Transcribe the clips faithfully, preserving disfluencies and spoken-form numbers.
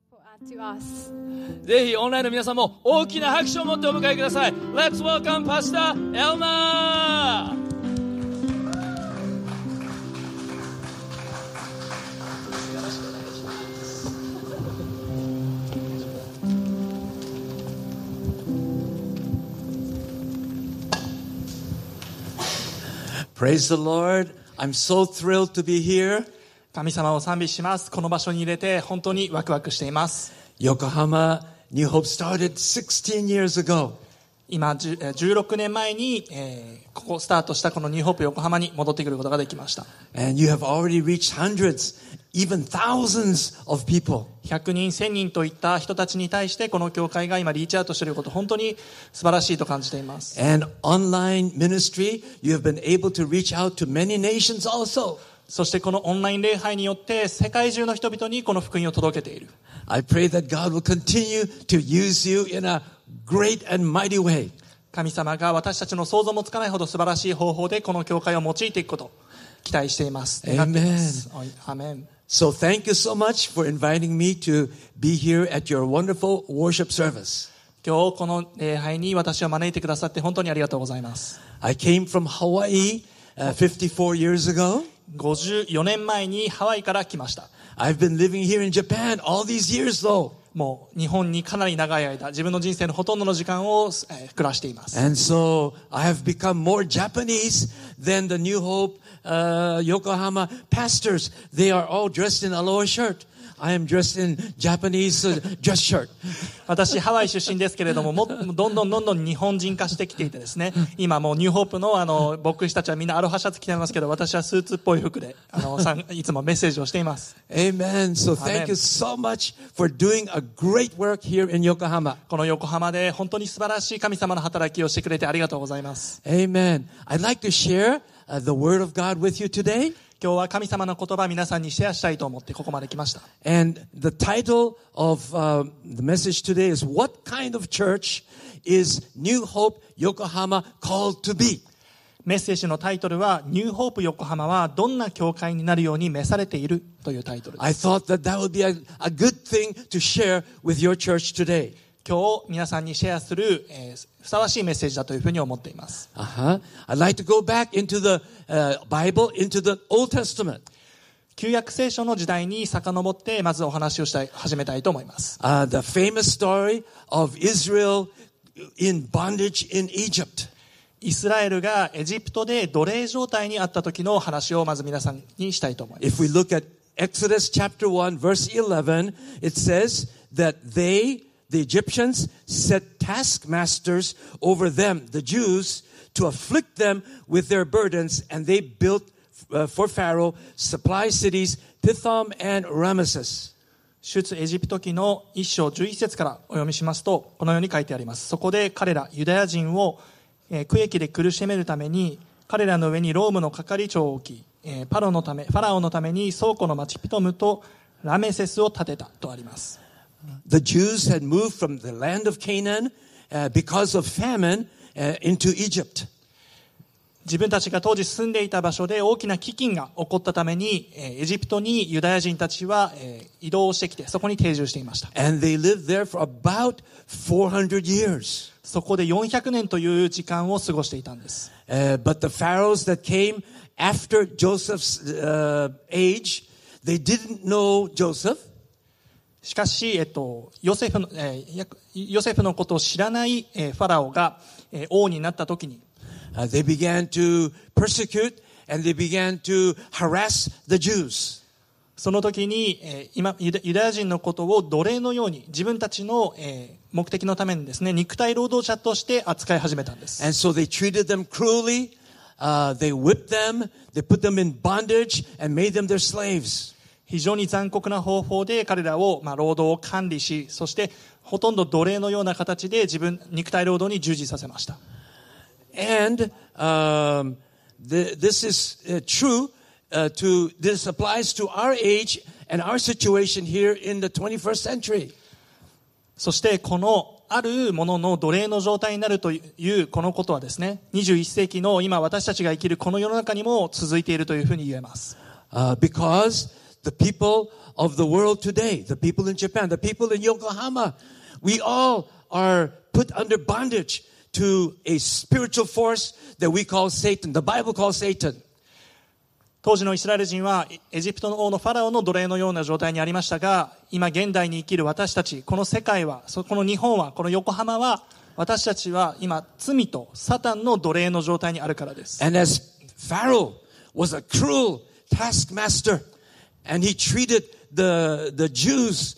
to us. ぜひオンラインの皆さんも大きな拍手を持ってお迎えください。 Let's welcome Pastor Elmer! Praise the Lord. I'm so thrilled to be here. 神様を賛美します。この場所に入れて本当にワクワクしています。 Yokohama New Hope started sixteen years ago. 今じゅじゅうろくねんまえに、えー、ここスタートしたこのニューホープ横浜に戻ってくることができました。 And you have already reached hundreds, even thousands of people. ひゃくにん、せんにんといった人たちに対してこの教会が今リーチアウトしていること、本当に素晴らしいと感じています。 And online ministry, you have been able to reach out to many nations also. そしてこのオンライン礼拝によって世界中の人々にこの福音を届けている。 I pray that God will continue to use you in a great and mighty way. 神様が私たちの想像もつかないほど素晴らしい方法でこの教会を用いていくことを期待しています。願っています。アーメン。 So thank you so much for inviting me to be here at your wonderful worship service. 今日この礼拝に私を招いてくださって本当にありがとうございます。 I came from Hawaii uh, fifty-four years ago. ごじゅうよねんまえにハワイから来ました。 I've been living here in Japan all these years though. もう日本にかなり長い間、自分の人生のほとんどの時間を、えー、暮らしています。 And so I have become more Japanese than the New Hope uh, Yokohama pastors. They are all dressed in aloha shirt. I am dressed in Japanese uh, dress shirt. 私ハワイ出身ですけれども、もどんどんどんどん日本人化してきていてですね、今もうニューホープのあの牧師たちはみんなアロハシャツ着てますけど、私はスーツっぽい服であのさんいつもメッセージをしています。 Amen. So thank you so much for doing a great work here in Yokohama. この横浜で本当に素晴らしい神様の働きをしてくれてありがとうございます。 Amen. I'd like to share uh, the word of God with you today. 今日は神様の言葉を皆さんにシェアしたいと思ってここまで来ました。 And the title of uh, the message today is What Kind of Church is New Hope Yokohama Called to Be? メッセージのタイトルはニューホープ横浜はどんな教会になるように召されているというタイトルです。 I thought that that would be a, a good thing to share with your church today. 今日皆さんにシェアする、えー、ふさわしいメッセージだというふうに思っています。 Uh-huh. I'd like to go back into the uh, Bible, into the Old Testament. 旧約聖書の時代に遡ってまずお話をしたい始めたいと思います。 Uh, the famous story of Israel in bondage in Egypt. イスラエルがエジプトで奴隷状態にあった時の話をまず皆さんにしたいと思います。 If we look at Exodus chapter one, verse eleven, it says that they, the Egyptians, set taskmasters over them, the Jews, to afflict them with their burdens, and they built uh, for Pharaoh supply cities, Pithom and Ramesses. 出エジプト記の一章じゅういっ節からお読みしますと、このように書いてあります。そこで彼らユダヤ人を、えー、区域で苦しめるために彼らの上にロームの係長を置き、えー、パロのためファラオのために倉庫の町ピトムとラメセスを建てたとあります。 The Jews had moved from the land of Canaan uh, because of famine uh, into Egypt. 自分たちが当時住んでいた場所で大きな飢饉が起こったためにエジプトにユダヤ人たちは移動してきてそこに定住していました。 And they lived there for about four hundred years. そこでよんひゃくねんという時間を過ごしていたんです。 Uh, but the pharaohs that came after Joseph's uh, age, they didn't know Joseph. しかし、えっと、ヨセフの、えー、ヨセフのことを知らない、えー、ファラオが、えー、王になった時に、 Uh, they began to persecute and they began to harass the Jews. その時に、えー、今ユダ、ユダヤ人のことを奴隷のように自分たちの、えー、目的のためにですね、肉体労働者として扱い始めたんです。 And so they treated them cruelly, uh, they whipped them, they put them in bondage and made them their slaves. 非常に残酷な方法で彼らを、まあ、労働を管理し、そしてほとんど奴隷のような形で自分肉体労働に従事させました。 And um, the, this is uh, true uh, to, this applies to our age and our situation here in the twenty-first century. そしてこのあるものの奴隷の状態になるというこのことはですね、にじゅういっ世紀の今私たちが生きるこの世の中にも続いているというふうに言えます。 Uh, because the the people of the world today, the people in Japan, the people in Yokohama, we all are put under bondage to a spiritual force that we call Satan. The Bible calls Satan. 当時のイスラエル人はエジプトの王のファラオの奴隷のような状態にありましたが、今現代に生きる私たち、この世界は、この日本は、この横浜は、私たちは今罪とサタンの奴隷の状態にあるからです。 And as Pharaoh was a cruel taskmaster, and he treated the the Jews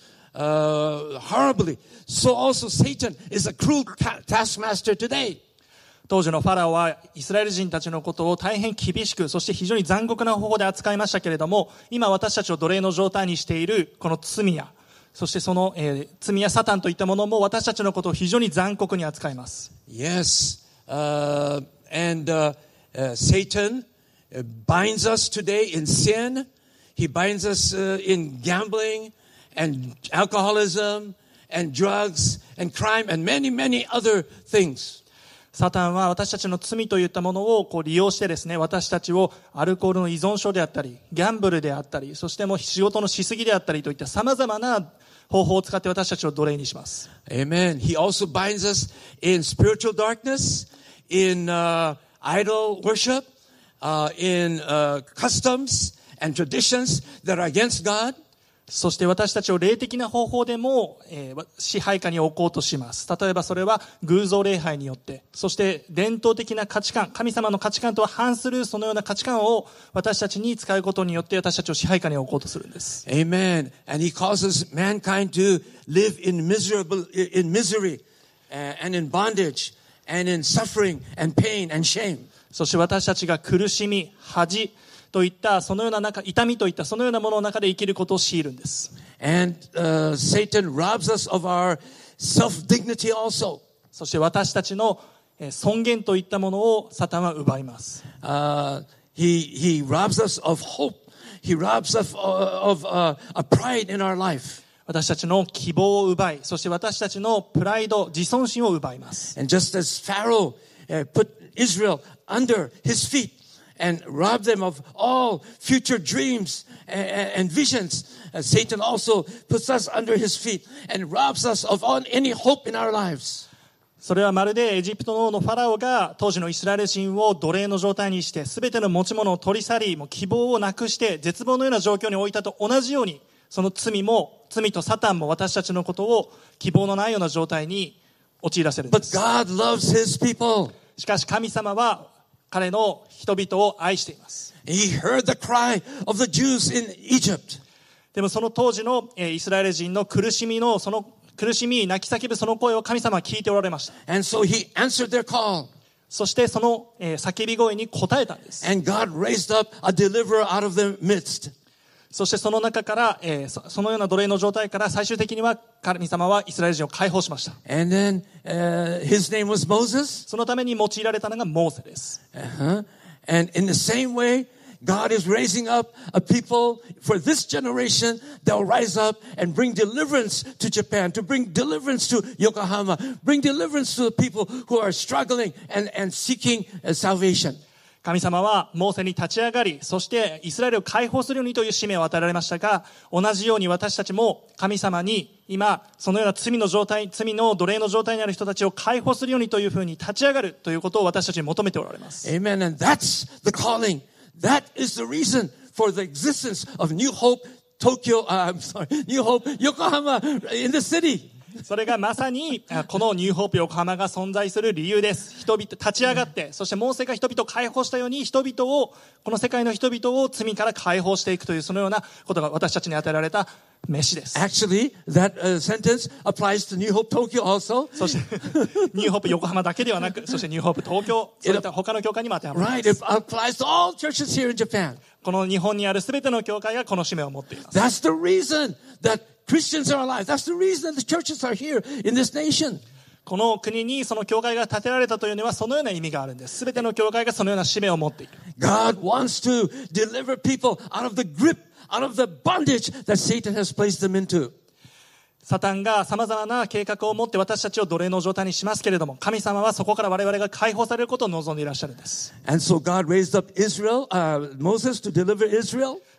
uh, horribly, so also Satan is a cruel taskmaster today. 当時のファラオはイスラエル人たちのことを大変厳しく、そして非常に残酷な方法で扱いましたけれども、今私たちを奴隷の状態にしているこの罪や、そしてその、えー、罪やサタンといったものも私たちのことを非常に残酷に扱います。 Yes, uh, and uh, uh, Satan binds us today in sin. He binds us uh, in gambling and alcoholism and drugs and crime and many, many other things. サタンは私たちの罪といったものをこう利用してですね、私たちをアルコールの依存症であったり、ギャンブルであったり、そしてもう仕事のしすぎであったりといった様々な方法を使って私たちを奴隷にします。 Amen. He also binds us in spiritual darkness, in uh, idol worship, uh, in uh, customs and traditions that are against God. そして私たちを霊的な方法でも、えー、支配下に置こうとします。例えばそれは偶像礼拝によって、そして伝統的な価値観、神様の価値観とは反するそのような価値観を私たちに使うことによって私たちを支配下に置こうとするんです。 Amen. And he causes mankind to live in miserable, in misery and in bondage and in suffering and pain and shame. そして私たちが苦しみ、恥といったそのような中、痛みといったそのようなものの中で生きることを強いるんです。 And uh, Satan robs us of our self-dignity also. そして私たちの尊厳といったものをサタンは奪います。 Uh, he he robs us of hope. He robs us of, of uh, a pride in our life. 私たちの希望を奪い、そして私たちのプライド、自尊心を奪います。 And just as Pharaoh uh, put Israel under his feet.And rob them of all future dreams and, and visions. Uh, Satan also puts us under his feet and robs us of all, any hope in our lives. それはまるでエジプトの王のファラオが当時のイスラエル人を奴隷の状態にして、すべての持ち物を取り去り、もう希望をなくして絶望のような状況に置いたと同じように、その罪も罪とサタンも私たちのことを希望のないような状態に陥らせるんです。 But God loves his people. しかし神様は彼の人々を愛しています。 He heard the cry of the Jews in Egypt. でもその当時のイスラエル人の苦しみのその苦しみ泣き叫ぶその声を神様は聞いておられました。 And so he answered their call. そしてその叫び声に応えたんです。 And God raised up a deliverer out of their midst. そしてその中から、えー、そ, そのような奴隷の状態から最終的には神様はイスラエル人を解放しました。 And then uh, his name was Moses. そのために用いられたのがモーセです。 Uh-huh. And in the same way, God is raising up a people for this generation that will rise up and bring deliverance to Japan, to bring deliverance to Yokohama, bring deliverance to the people who are struggling and, and seeking uh, salvation. 神様はモーセに立ち上がり、そしてイスラエルを解放するようにという使命を与えられましたが、同じように私たちも神様に今そのような罪の状態、罪の奴隷の状態にある人たちを解放するようにというふうに立ち上がるということを私たちに求めておられます。 Amen. And that's the calling. That is the reason for the existence of New Hope Tokyo, uh, I'm sorry, New Hope Yokohama in the city. それがまさにこのニューホープ横浜が存在する理由です。人々立ち上がって、そしてモーセが人々を解放したように人々を、この世界の人々を罪から解放していくというそのようなことが私たちに与えられた飯です。 Actually, that、uh, sentence applies to New Hope Tokyo also. そしてニューホープ横浜だけではなく、そしてニューホープ東京、そういった他の教会にも当てはまります。 Right, it applies to all churches here in Japan. この日本にあるすべての教会がこの使命を持っています。 That's the reason that Christians are alive. That's the reason that the churches are here in this nation. この国にその教会が建てられたというのはそのような意味があるんです。すべての教会がそのような使命を持っている。 God wants to deliver people out of the grip, out of the bondage that Satan has placed them into. サタンが様々な計画を持って私たちを奴隷の状態にしますけれども、神様はそこから我々が解放されることを望んでいらっしゃるんです。 And so God raised up Israel, uh, Moses to deliver Israel.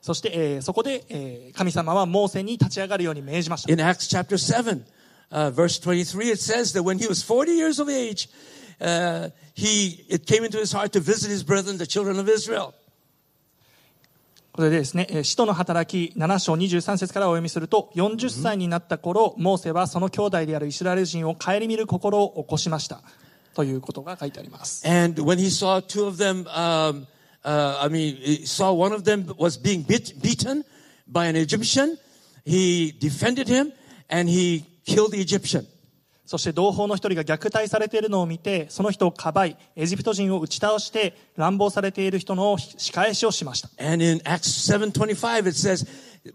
そして、えーそこで、えー神様はモーセに立ち上がるように命じました。 In Acts chapter seven, uh, verse twenty-three, it says that when he was forty years of age, uh, he, it came into his heart to visit his brethren, the children of Israel. これでですね、えー使徒の働きなな章にじゅうさん節からお読みすると、よんじゅっさいになった頃、モーセはその兄弟であるイスラエル人を顧みる心を起こしましたということが書いてあります。 And when he saw two of them, um, uh, I mean, he saw one of them was being beat, beaten by an Egyptian, he defended him and he killed the Egyptian. そして同胞の一人が虐待されているのを見て、その人をかばい、エジプト人を打ち倒して乱暴されている人の仕返しをしました。 And in Acts seven twenty-five, it says,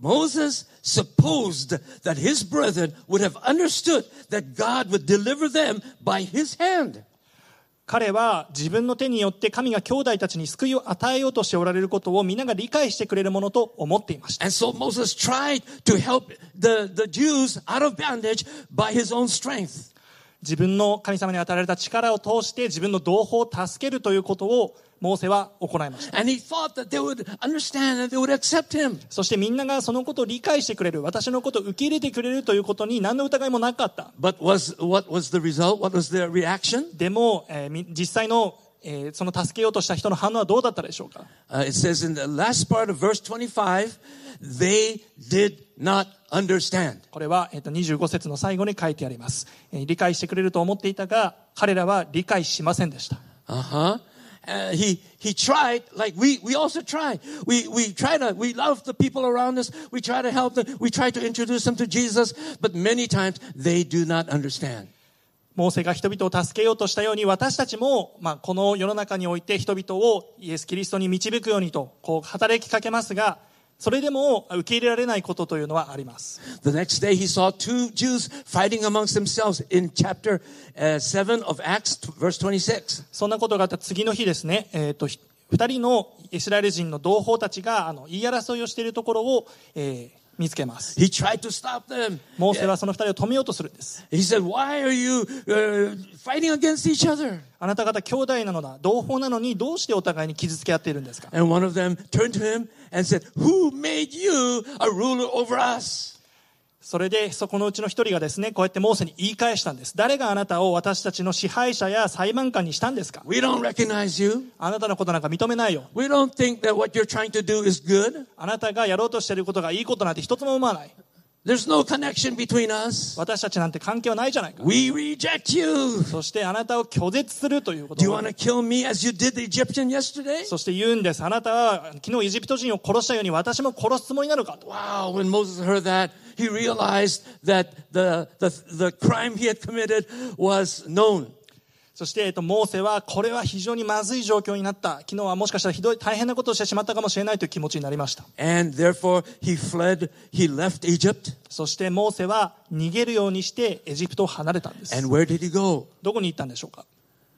Moses supposed that his brethren would have understood that God would deliver them by his hand. 彼は自分の手によって神が兄弟たちに救いを与えようとしておられることを皆が理解してくれるものと思っていました。 And so Moses tried to help the, the Jews out of bondage by his own strength. 自分の神様に与えられた力を通して自分の同胞を助けるということをモーセは行いました。 And he thought that they would understand and they would accept him. そしてみんながそのことを理解してくれる、私のことを受け入れてくれるということに何の疑いもなかった。 But was, what was the result? What was their reaction? でも、えー実際の、えーその助けようとした人の反応はどうだったでしょうか。 Uh, it says in the last part of verse twenty-five, they did not understand. これは、えーとにじゅうご節の最後に書いてあります。えー理解してくれると思っていたが、彼らは理解しませんでした。 Uh-huh. Uh, he he tried, like we we also try. We we try to we love the people around us. We try to help them. We try to introduce them to Jesus, but many times they do not understand. モーセが人々を助けようとしたように、私たちも、まあ、この世の中において人々をイエス・キリストに導くようにとこう働きかけますが、それでも受け入れられないことというのはあります。 The next day he saw two Jews fighting amongst themselves in chapter uh, seven of Acts, verse twenty-six. そんなことがあった次の日ですね、えー、とひ二人のイスラエル人の同胞たちがあの言い争いをしているところを、えー見つけます。 He tried to stop them. モーセはその二人を止めようとするんです。 He said, "Why are you uh, fighting against each other?" あなた方兄弟なのだ、同胞なのにどうしてお互いに傷つけ合っているんですか。 And one of them turned to him and said, "Who made you a ruler over us?" それでそこのうちの一人がですね、こうやってモーセに言い返したんです。誰があなたを私たちの支配者や裁判官にしたんですか。 We don't recognize you. あなたのことなんか認めないよ。 We don't think that what you're trying to do is good. あなたがやろうとしていることがいいことなんて一つも思わない。 There's no connection between us. 私たちなんて関係はないじゃないか。 We reject you. そしてあなたを拒絶するというこ Do you とを want to kill me as you did the Egyptian yesterday? そして言うんです。あなたは昨日エジプト人を殺したように私も殺すつもりなのかと。 Wow, when Moses heard that, he realized that the, the, the crime he had committed was known. そして、えっと、モーセはこれは非常にまずい状況になった。昨日はもしかしたらひどい大変なことをしてしまったかもしれないという気持ちになりました。 And therefore he fled, he left Egypt. そしてモーセは逃げるようにしてエジプトを離れたんです。 And where did he go? どこに行ったんでしょうか。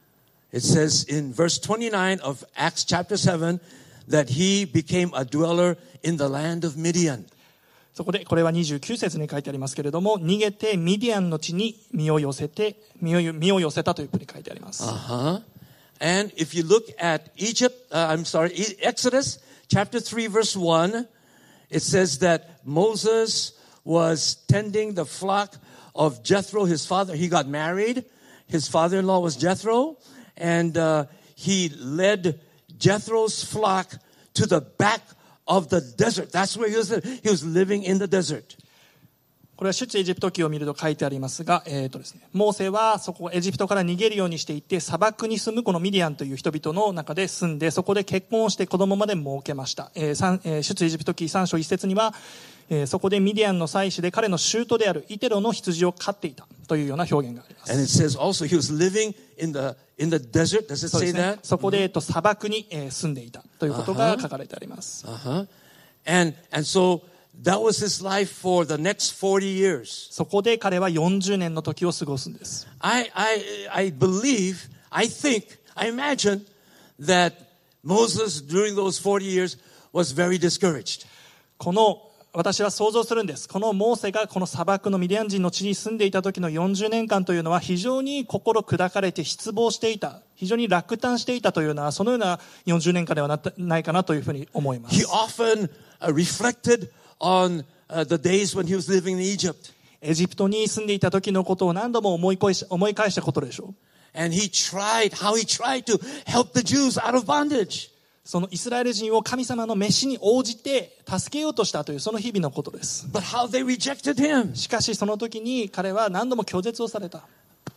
It says in verse twenty-nine of Acts chapter seven that he became a dweller in the land of Midian. そこでこれはにじゅうきゅう節に書いてありますけれども、逃げてミディアンの地に身を寄せて身を身を寄せたというふうに書いてあります。 Uh-huh. And if you look at Egypt, uh, I'm sorry, Exodus chapter three verse one, it says that Moses was tending the flock of Jethro, his father. He got married. His father-in-law was Jethro, and uh, he led Jethro's flock to the back of the desert. That's where he was. He was living in the desert. これは出エジプト記を見ると書いてありますが、えーとですね、モーセはそこエジプトから逃げるようにしていって砂漠に住むこのミディアンという人々の中で住んで、そこで結婚をして子供まで設けました。えー三えー、出エジプト記さん章いち節には、えー、そこでミディアンの妻子で彼の舅であるイテロの羊を飼っていたというような表現があります。 And it says also he was living in the in the desert. Does it そうで say すね that? そこで、えーと砂漠に、えー住んでいたということが書かれてあります。 Uh-huh. And and so that was his life for the next forty years. そこで彼はよんじゅうねんの時を過ごすんです。 I I I believe, I think, I imagine that Moses during those forty years was very discouraged. この私は想像するんです。このモーセがこの砂漠のミディアン人の地に住んでいた時のよんじゅうねんかんというのは非常に心砕かれて失望していた、非常に落胆していたというような、そのようなよんじゅうねんかんではなないかなというふうに思いま He す。 often uh, reflected on uh, the days when he was living in Egypt. エジプトに住んでいた時のことを何度も思い返し、思い返したことでしょう。 And he tried, how he tried to help the Jews out of bondage. そのイスラエル人を神様の召しに応じて助けようとしたというその日々のことです。 But how they rejected him. しかしその時に彼は何度も拒絶をされた。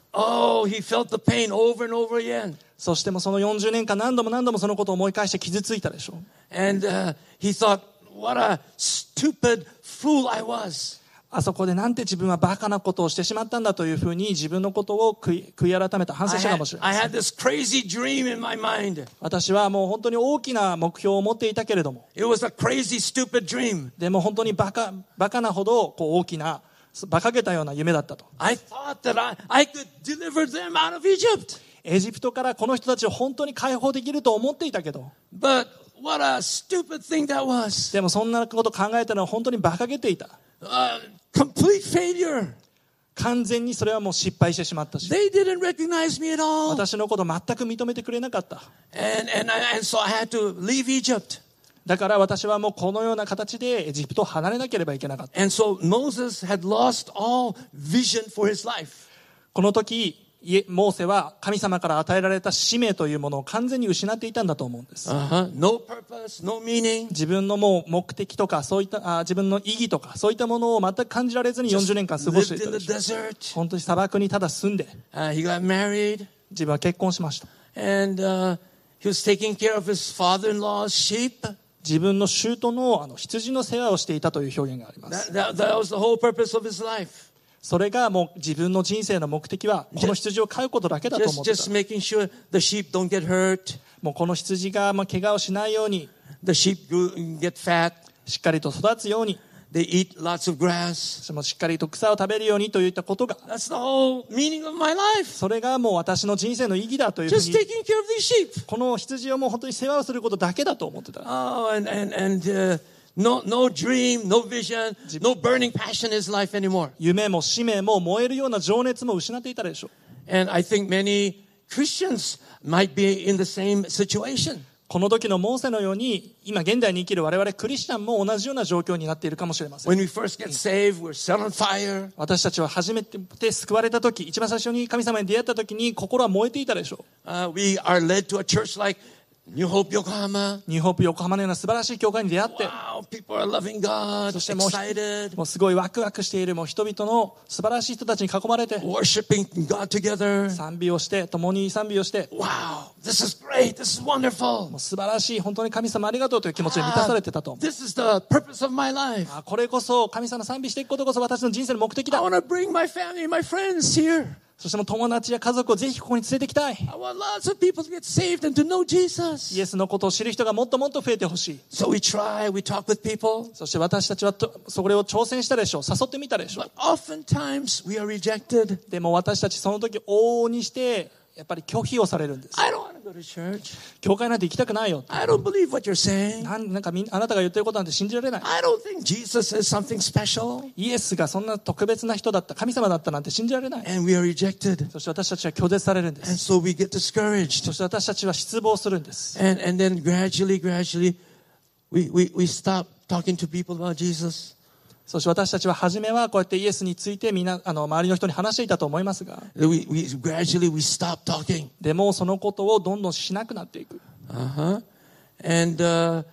Oh, he felt the pain over and over again. そしてもそのよんじゅうねんかん何度も何度もそのことを思い返して傷ついたでしょう。 And uh, he thought, what a stupid fool I was. あそこでなんて自分はバカなことをしてしまったんだというふうに自分のことを悔い、悔い改めた反省 I したか had, もしれ I ませ had ん。 this crazy dream in my mind. 私はもう本当に大きな目標を持っていたけれども、 It was a crazy, stupid dream. でも本当にバカ、バカなほどこう大きな、馬鹿げたような夢だったと。 I thought that I, I could deliver them out of Egypt. エジプトからこの人たちを本当に解放できると思っていたけど、 But what a stupid thing that was. でもそんなことを考えたのは本当に馬鹿げていた。 Uh, complete failure. 完全にそれはもう失敗してしまったし、 They didn't recognize me at all. 私のことを全く認めてくれなかった。 And, and, I, and so I had to leave Egypt. だから私はもうこのような形でエジプトを離れなければいけなかった。 And so Moses had lost all vision for his life. この時モーセは神様から与えられた使命というものを完全に失っていたんだと思うんです。 Uh-huh. No purpose, no meaning. 自分のもう目的とかそういったあ自分の意義とかそういったものを全く感じられずによんじゅうねんかん過ごしてい Lived た in で the しょう。 desert. 本当に砂漠にただ住んで Uh, he got married. 自分は結婚しました。 And uh, he was taking care of his father-in-law's sheep. 自分の舅のあの羊の世話をしていたという表現があります。 That, that, that was the whole purpose of his life. それがもう自分の人生の目的はこの羊を飼うことだけだと思 Just, ってた。 just making sure the sheep don't get hurt. もうこの羊がまあ怪我をしないように The sheep grew, get fat. しっかりと育つように、 They eat lots of grass. そしてもしっかりと草を食べるようにといったことが、 That's the whole meaning of my life. それがもう私の人生の意義だというふう Just に、 taking care of these sheep. この羊をもう本当に世話をすることだけだと思ってた。 Oh, and, and, and uh, no, no dream, no vision, no burning passion in his life anymore. 夢も使命も燃えるような情熱も失っていたでしょう。 And I think many Christians might be in the same situation. この時のモーセのように今現代に生きる我々クリスチャンも同じような状況になっているかもしれません。 When we first get saved, we're set on fire. 私たちは初めて救われた時、一番最初に神様に出会った時に心は燃えていたでしょう。 Uh, we are led to a church like New Hope Yokohama. ニューホープ横浜のような素晴らしい教会に出会って、 Wow, people are loving God, そしてもう excited, もうすごいワクワクしているもう人々の素晴らしい人たちに囲まれて worshiping God together. 賛美をして共に賛美をして Wow, this is great. This is wonderful. もう素晴らしい本当に神様ありがとうという気持ちで満たされてたと思う。 This is the purpose of my life. あこれこそ神様賛美していくことこそ私の人生の目的 I だ。 want to bring my family, my friends here. そしてもう友達や家族をぜひここに連れてきたい。 I want lots of people to get saved and to know イ Jesus. エスのことを知る人がもっともっと増えてほしい。 So we try, we talk with people, そして私たちはとそれを挑戦したでしょう。誘ってみたでしょう。 but oftentimes we are rejected. でも私たちその時往々にしてやっぱり拒否をされるんです。 I don't want to go to church. 教会なんて行きたくないよ。 I don't believe what you're saying. なんなんかみんあなたが言ってることなんて信じられない。 I don't think Jesus is something special. イエスがそんな特別な人だった、神様だったなんて信じられない。 And we are rejected. そして私たちは拒絶されるんで And す。 so we get discouraged. そして私たちは失望するんです。 And, and then gradually, gradually, we, we, we stop talking to people about Jesus. そして私たちは初めはこうやってイエスについてみんなあの周りの人に話していたと思いますが、 We, we, gradually, we stop talking. でもそのことをどんどんしなくなっていく。 Uh-huh. And uh,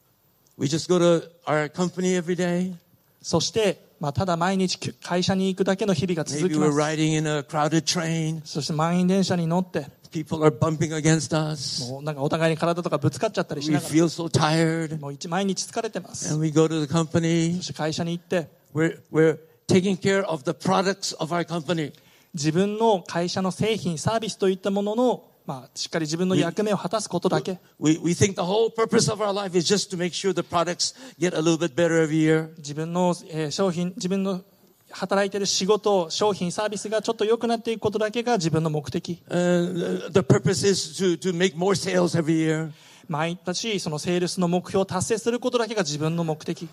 we just go to our company every day. そして、まあ、ただ毎日会社に行くだけの日々が続 Maybe き we're ます。 riding in a crowded train. そして満員電車に乗って、 People are bumping against us. もうなんかお互いに体とかぶつかっちゃったりし We ながら、 feel so tired. もう一毎日疲れてます。 And we go to the company. そして会社に行って、 We're, we're taking care of the products of our company. 自分の会社の製品、サービスといったものの、まあ、しっかり自分の役目を果たすことだけ。 We, we think the whole purpose of our life is just to make sure the products get a little bit better every year. 自分の、えー商品、自分の働いている仕事、商品、サービスがちょっと良くなっていくことだけが自分の目的。 Uh, the purpose is to, to make more sales every year. 毎年そのセールスの目標を達成することだけが自分の目的。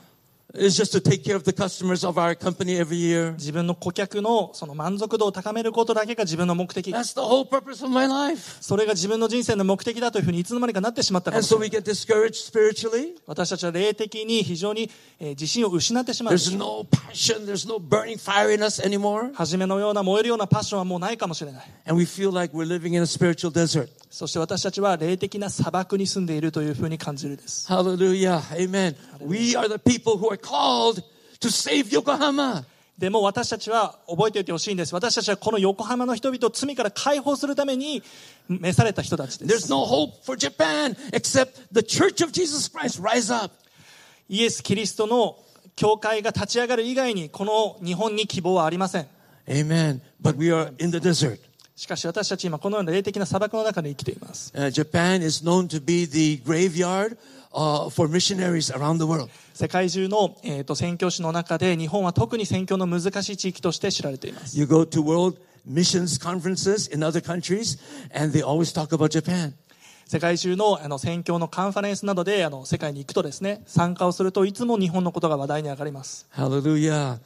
is just to take care of the customers of our company every year. 自分の顧客のその満足度を高めることだけが自分の目的。 That's the whole purpose of my life. それが自分の人生の目的だというふうにいつの間にかなってしまったかも And しれ so ない。 we get discouraged spiritually. 私たちは霊的に非常にえー自信を失ってしまう。 There's no passion. There's no burning fire in us anymore. 初めのような燃えるようなパッションはもうないかもしれない。 And we feel like we're living in a spiritual desert. そして私たちは霊的な砂漠に住んでいるというふうに感じるです。 Hallelujah. Amen. We are the people who are called to save Yokohama. でも私たちは覚えておいてほしいんです。私たちはこの横浜の人々を罪から解放するために召された人たちで There's す。 no hope for Japan except the Church of Jesus Christ rise up. イエス・キリストの教会が立ち上がる以外にこの日本に希望はありません。 Amen. But we are in the desert. しかし私たち今このような霊的な砂漠の中で生きています。 Uh, Japan is known to be the graveyard uh, for missionaries around the world. 世界中の、えー、と宣教師の中で日本は特に宣教の難しい地域として知られています。 You go to world missions conferences in other countries, and they always talk about Japan. 世界中のあの宣教のカンファレンスなどであの世界に行くとですね、参加をするといつも日本のことが話題に上がります。 Hallelujah.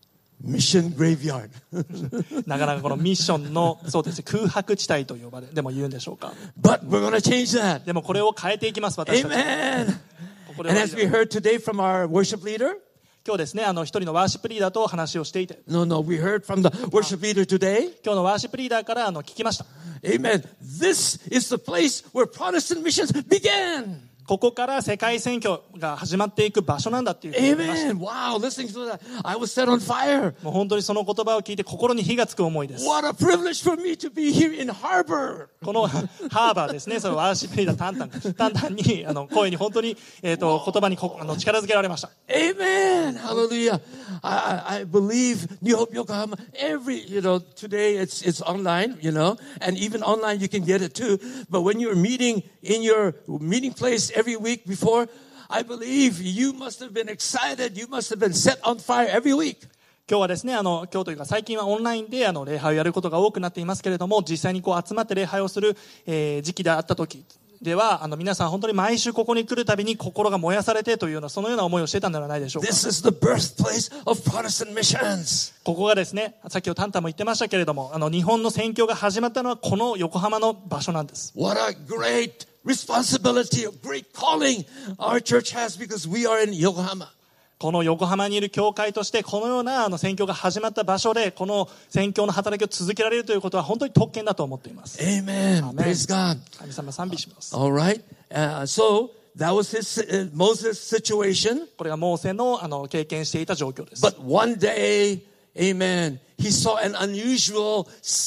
Mission graveyard. なかなかこのミッションのそうですね、空白地帯と呼ばれでも言うんでしょうか。 But we're going to change that. でもこれを変えていきます。私たちは Amen. ここで And 終わ as り we だ heard today from our worship leader, 今日ですね、あの一人のワーシップリーダーと話をしていて、 no, no, we heard from the worship leader today. 今日のワーシップリーダーからあの聞きました。 Amen. This is the place where Protestant missions began. ここから世界宣教が始まっていく場所なんだっていうふうに言いました。 Amen. Wow, listening to that, I was set on fire. もう本当にその言葉を聞いて心に火がつく思いです。 What a privilege for me to be here in Harbor. このハーバーですね、そのワーシップリーダータンタンタンタンにあの声に本当に、えー、と言葉にこあの力づけられました。 Amen. Hallelujah. I, I I believe New Hope Yokohama, every, you know, today it's, it's online, you know, and even online you can get it too. But when you're meeting in your meeting place every week before, I believe you must have been excited. You must have been set on fire every week. 今日はですね、あの今日というか最近はオンラインであの礼拝をやることが多くなっていますけれども、実際にこう集まって礼拝をする、えー時期であった時では、あの皆さん本当に毎週ここに来るたびに心が燃やされてというようなそのような思いをしていたんではないでしょうか。 This is the birthplace of Protestant missions. ここがですね、さっきタンタンも言ってましたけれども、あの日本の宣教が始まったのはこの横浜の場所なんです。 What a great responsibility, a great calling our church has because we are in Yokohama. この横浜にいる教会としてこのようなあの宣教が始まった場所でこの宣教の働きを続けられるということは本当に特権だと思っています。 Amen. Amen. Praise God. 神様賛美します。 All right. Uh, so that was his uh, Moses' situation. これがモーセのあの経験していた状況です。 But one day, amen, he saw an unusual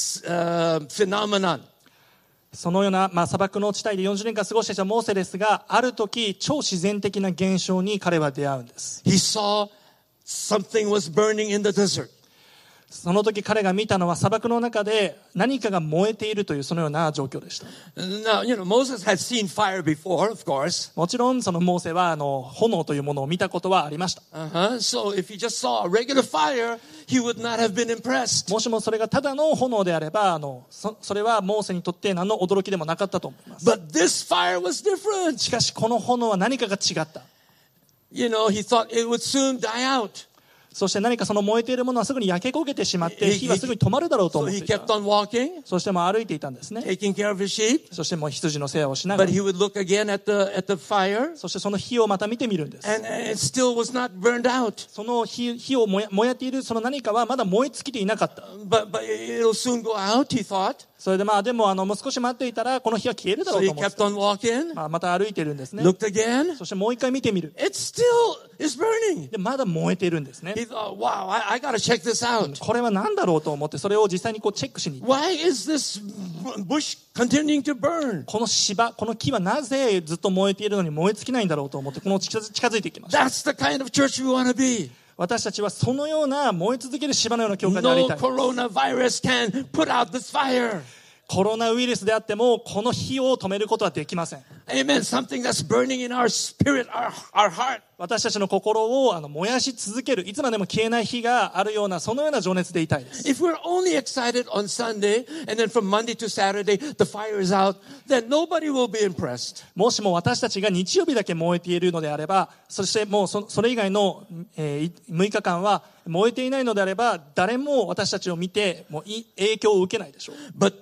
uh, phenomenon. そのような、まあ、砂漠の地帯でよんじゅうねんかん過ごしていたモーセですが、ある時超自然的な現象に彼は出会うんです。 He saw something was burning in the desert. その時彼が見たのは砂漠の中で何かが燃えているというそのような状況でした。 Now, you know, Moses had seen fire before, of course. もちろんそのモーセはあの炎というものを見たことはありました。 Uh-huh. So if he just saw a regular fire, he would not have been impressed. もしもそれがただの炎であれば、あの そ, それはモーセにとって何の驚きでもなかったと思います。 But this fire was different. しかしこの炎は何かが違った。 You know, he thought it would soon die out. そして何かその燃えているものはすぐに焼け焦げてしまって He- 火はすぐに止まるだろうと So 思っ he ていた。 kept on walking, そしてもう歩いていたんですね。 taking care of his sheep. そしてもう羊の世話をしなが But ら、 he would look again at the at the fire, そしてその火をまた見てみるんです。 and it still was not burned out. その 火, 火を燃え燃えているその何かはまだ燃え尽きていなかった。 But but it'll soon go out, he thought. それでまあでもあのもう少し待っていたらこの火は消えるだろ So う he と思って kept on walking, まあ、また歩いているんですね。 looked again. そしてもう一回見てみる。 It still is burning. でまだ燃えているんですね。 He thought, wow, I, I got to check this out. これは何だろうと思ってそれを実際にこうチェックしに行って、 Why is this bush continuing to burn? この芝この木はなぜずっと燃えているのに燃え尽きないんだろうと思ってこの近づ近づいていきました。 That's the kind of church we want to be. 私たちはそのような燃え続ける芝のような教会であり No たい。 coronavirus can put out this fire. コロナウイルスであってもこの火を止めることはできません。 Amen. Something that's burning in our spirit, our, our heart. 私たちの心をあの燃やし続ける、いつまでも消えない火があるような、そのような情熱でいたいです。 If we're only excited on Sunday and then from Monday to Saturday the fire is out, then nobody will be impressed. もしも私たちが日曜日だけ燃えているのであれば、そしてもう そ, それ以外の、えー、むいかかんは燃えていないのであれば、誰も私たちを見てもう影響を受けないでしょう。 But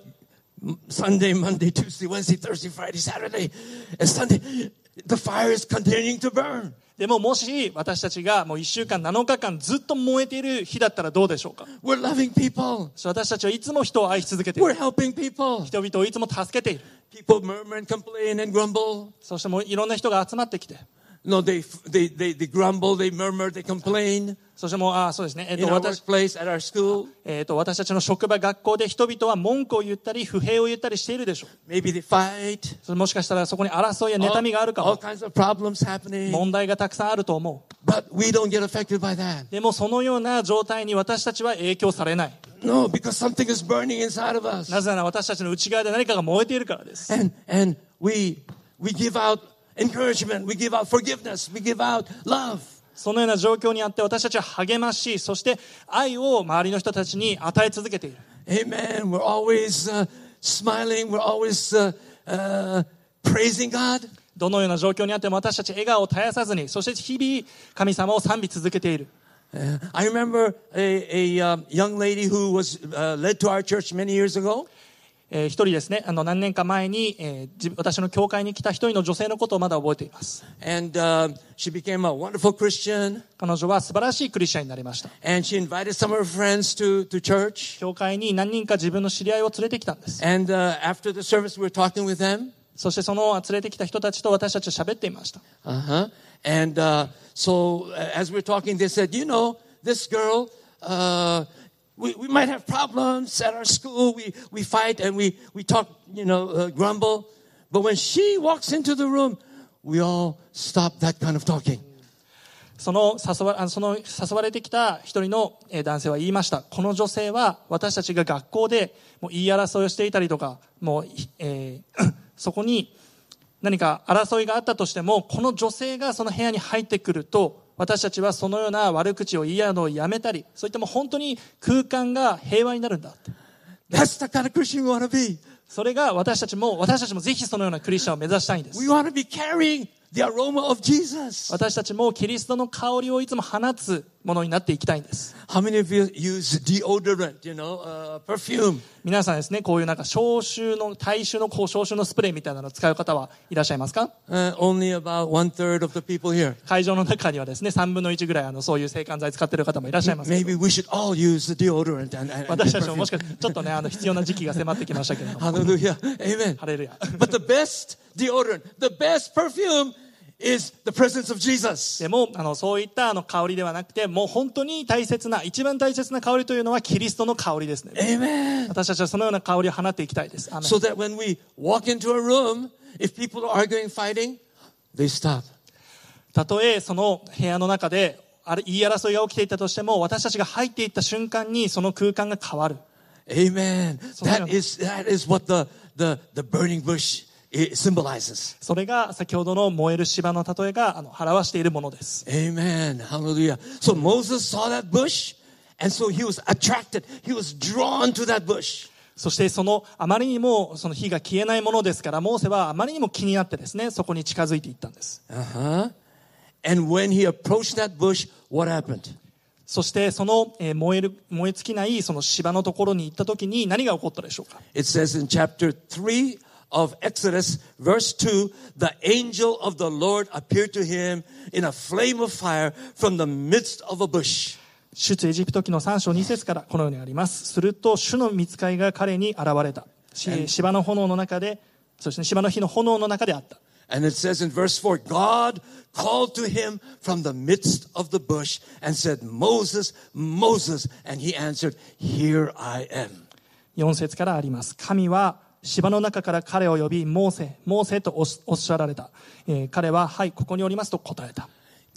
Sunday, Monday, Tuesday, Wednesday, Thursday, Friday, Saturday, and Sunday, the fire is continuing to burn. でももし私たちがもういっしゅうかんなのかかんずっと燃えている日だったらどうでしょうか。 We're loving people. 私たちはいつも人を愛し続けてい We're る。 helping people. 人々をいつも助けている。 People murmur and complain and grumble. そしてもういろんな人が集まってきて、 No, they, they, they, they grumble, they murmur, they complain. そしてもうあそうですね、えっ In と our 私 workplace, at our school, えっと私たちの職場、学校で人々は文句を言ったり不平を言ったりしているでしょう。 maybe they fight. それもしかしたらそこに争いや妬みがあるか All, も。 all kinds of problems happening. 問題がたくさんあると思う。 But we don't get affected by that. でもそのような状態に私たちは影響されない。 No, because something is burning inside of us. なぜなら私たちの内側で何かが燃えているからです。 And, and we, we give out encouragement, we give out forgiveness, we give out love. そのような状況にあって私たちは励まし、そして愛を周りの人たちに与え続けている。 Amen. We're always uh, smiling. We're always uh, uh, praising God. どのような状況にあっても私たち笑顔を絶やさずに、そして日々神様を賛美続けている。 Uh, I remember a, a um, young lady who was uh, led to our church many years ago. えー、一人ですね、あの何年か前に、えー、自私の教会に来た一人の女性のことをまだ覚えています。 And uh, she became a wonderful Christian. 彼女は素晴らしいクリスチャンになりました。 And she invited some of her friends to, to church. 教会に何人か自分の知り合いを連れてきたんです。 And uh, after the service, we were talking with them. そしてその連れてきた人たちと私たちは喋っていました。 Uh-huh. And uh, so uh, as we were talking, they said, you know, this girl, uh, we, we might have problems at our school. We, we fight and we, we talk, you know, uh, grumble. But when she walks into the room, we all stop that kind of talking. その誘わ、あのその誘われてきた一人の男性は言いました。この女性は私たちが学校でもう言い争いをしていたりとか、もう、えー、そこに何か争いがあったとしても、この女性がその部屋に入ってくると、私たちはそのような悪口を言い合うのをやめたり、そういったもう本当に空間が平和になるんだって。 That's the kind of Christian we want to be. それが私たちも、私たちもぜひそのようなクリスチャンを目指したいんです。 We want to be carrying the aroma of Jesus. 私たちもキリストの香りをいつも放つものになっていきたいんです。 How many of you use deodorant, you know, uh, perfume? 皆さんですね、こういうなんか消臭の、体臭のこう消臭のスプレーみたいなのを使う方はいらっしゃいますか？ Uh, only about one third of the people here. 会場の中にはですね、さんぶんのいちぐらいあのそういう制汗剤使ってる方もいらっしゃいますけど。 Maybe we should all use the deodorant and, and, and 私たちもも perfume. しかしてちょっとね、あの必要な時期が迫ってきましたけれども。 Hallelujah. Amen. ハレルヤ。 But the best deodorant, the best perfume is the presence of Jesus. でもあのそういったあの香りではなくて、もう本当に大切な、一番大切な香りというのはキリストの香りですね。 Amen. 私たちはそのような香りを放っていきたいです。アーメン。 So that when we walk into a room, if people are arguing, fighting, they stop. たとえその部屋の中であれ言い争いが起きていたとしても、私たちが入っていった瞬間にその空間が変わる。 Amen. That is, that is what the, the, the burning bush it symbolizes. それが先ほどの燃える芝の例えがあの表しているものです。 Amen. Hallelujah. So Moses saw that bush, and so he was attracted. He was drawn to that bush. そしてそのあまりにもその火が消えないものですから、モーセはあまりにも気になってですね、そこに近づいていったんです。 Uh-huh. And when he approached that bush, what happened? そしてそのえー燃える燃え尽きないその芝のところに行った時に何が起こったでしょうか。 It says in chapter three of Exodus, verse two, the angel of the Lord appeared to him in a flame of fire from the midst of a bush. 出エジプト記のさん章に節からこのようにあります。すると主の御使いが彼に現れた。し芝の炎の中で、そして芝の火の炎の中であった。 And it says in verse four, God called to him from the midst of the bush and said, Moses, Moses. And he answered, Here I am. よん節からあります。神は芝の中から彼を呼び、モーセ、モーセとおっしゃられた。えー彼は、はい、ここにおりますと答えた。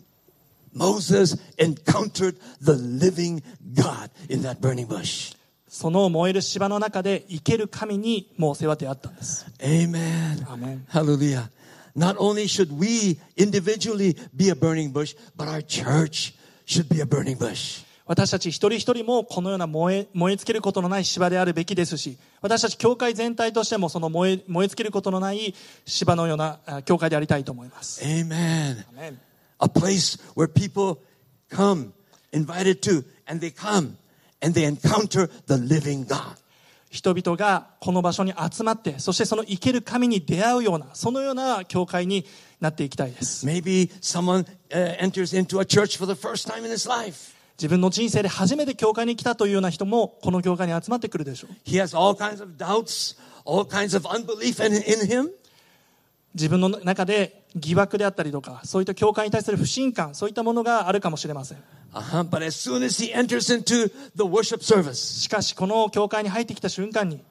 Moses encountered the living God in that burning bush. その燃える芝の中で生ける神にモーセは出会ったんです。 Amen. Amen. Hallelujah. Not only should we individually be a burning bush, but our church should be a burning bush. 私たち一人一人もこのような燃え、燃え尽きることのない芝であるべきですし、私たち教会全体としてもその燃え、燃え尽きることのない芝のような教会でありたいと思います。 Amen. Amen. A place where people come, invited to, and they come, and they encounter the living God. 人々がこの場所に集まって、そしてその生ける神に出会うような、そのような教会になっていきたいです。 Maybe someone uh, enters into a church for the first time in his life. 自分の人生で初めて教会に来たというような人もこの教会に集まってくるでしょう。 He has all kinds of doubts, all kinds of unbelief in, in him. 自分の中で疑惑であったりとか、そういった教会に対する不信感、そういったものがあるかもしれません。 Uh-huh. But as soon as he enters into the worship service, しかしこの教会に入ってきた瞬間に、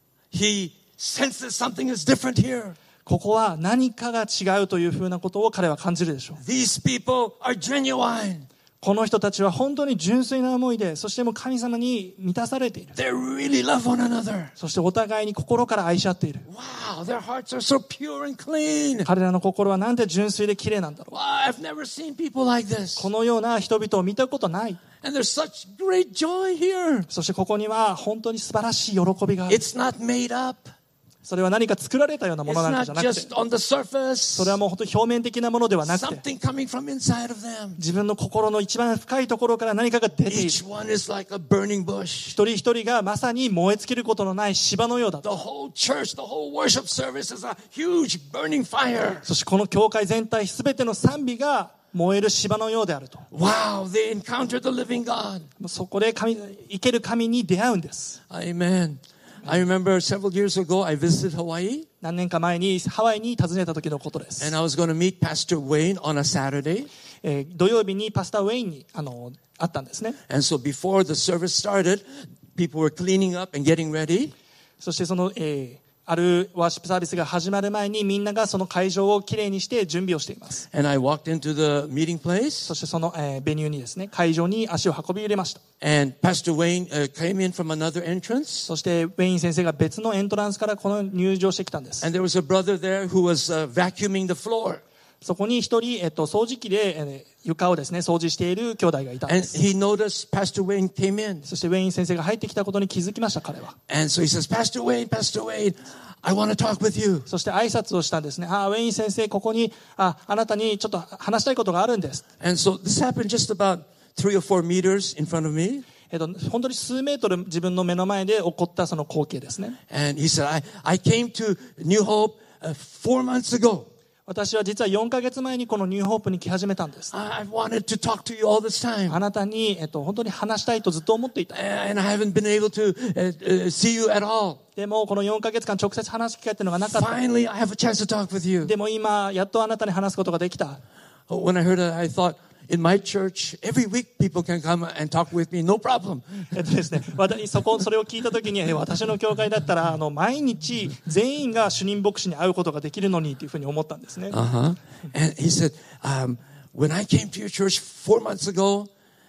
he senses something is different here. ここは何かが違うというふうなことを彼は感じるでしょう。 These people are genuine. この人たちは本当に純粋な思いで、そしてもう神様に満たされている。 They really love one another. そしてお互いに心から愛し合っている。 Wow, their hearts are so pure and clean. 彼らの心はなんて純粋で綺麗なんだろう。 Wow, I've never seen people like this. このような人々を見たことない。 And there's such great joy here. そしてここには本当に素晴らしい喜びがある。 It's not made up. それは何か作られたようなも It's のなんかじゃ not なくて、 just on the surface. それはもう本当に表面的なものではなくて、 Something coming from inside of them. 自分の心の一番深いところから何かが出ている。 Each one is like a burning bush. 一人一人がまさに燃え尽きることのない芝のようだ The と。 whole church, the whole worship service is a huge burning fire. そしてこの教会全体すべての賛美が燃える芝のようであると。 Wow, they encountered the living God. そこで神、生ける神に出会うんです。 Amen. I remember several years ago I visited Hawaii. 何年か前にハワイに訪ねた時のことです。 And I was going to meet Pastor Wayne on a Saturday. えー土曜日にパスター・ウェインにあの会ったんですね。 And so before the service started, people were cleaning up and getting ready. そしてその、えーあるワーシップサービスが始まる前にみんながその会場をきれいにして準備をしています。 And I walked into the meeting place. そしてその、えーベニューにですね、会場に足を運び入れました。 And Pastor Wayne uh, came in from another entrance. そしてウェイン先生が別のエントランスからこの入場してきたんです。 And there was a brother there who was uh, vacuuming the floor. そこに一人、えっと、掃除機で、えー床をですね、掃除している兄弟がいたん And です。 he noticed Pastor Wayne came in. そしてウェイン先生が入ってきたことに気づきました、彼は。 And so he says, Pastor Wayne, Pastor Wayne, I want to talk with you. そして挨拶をしたんですね。あ、ウェイン先生、ここに、あ、あなたにちょっと話したいことがあるんです。 And so this happened just about three or four meters in front of me. えっと、本当に数メートル自分の目の前で起こったその光景ですね。 And he said, I, I came to New Hope uh, four months ago. 私は実はよんかげつまえにこのニューホープに来始めたんです。 I- I've wanted to talk to you all this time. あなたに、えっと、本当に話したいとずっと思っていた。 And I haven't been able to uh, uh, see you at all. でもこのよんかげつかん直接話す機会っていうのがなかった。 Finally, I have a chance to talk with you. でも今、やっとあなたに話すことができた。 When I heard that, I thought, in my church, every week people can come and talk with me, no problem. えっとですね、私そこそれを聞いたときに、え私の教会だったらあの毎日全員が主任牧師に会うことができるのにというふうに思ったんですね。 Uh-huh. And he said, um, when I came to your church four months ago,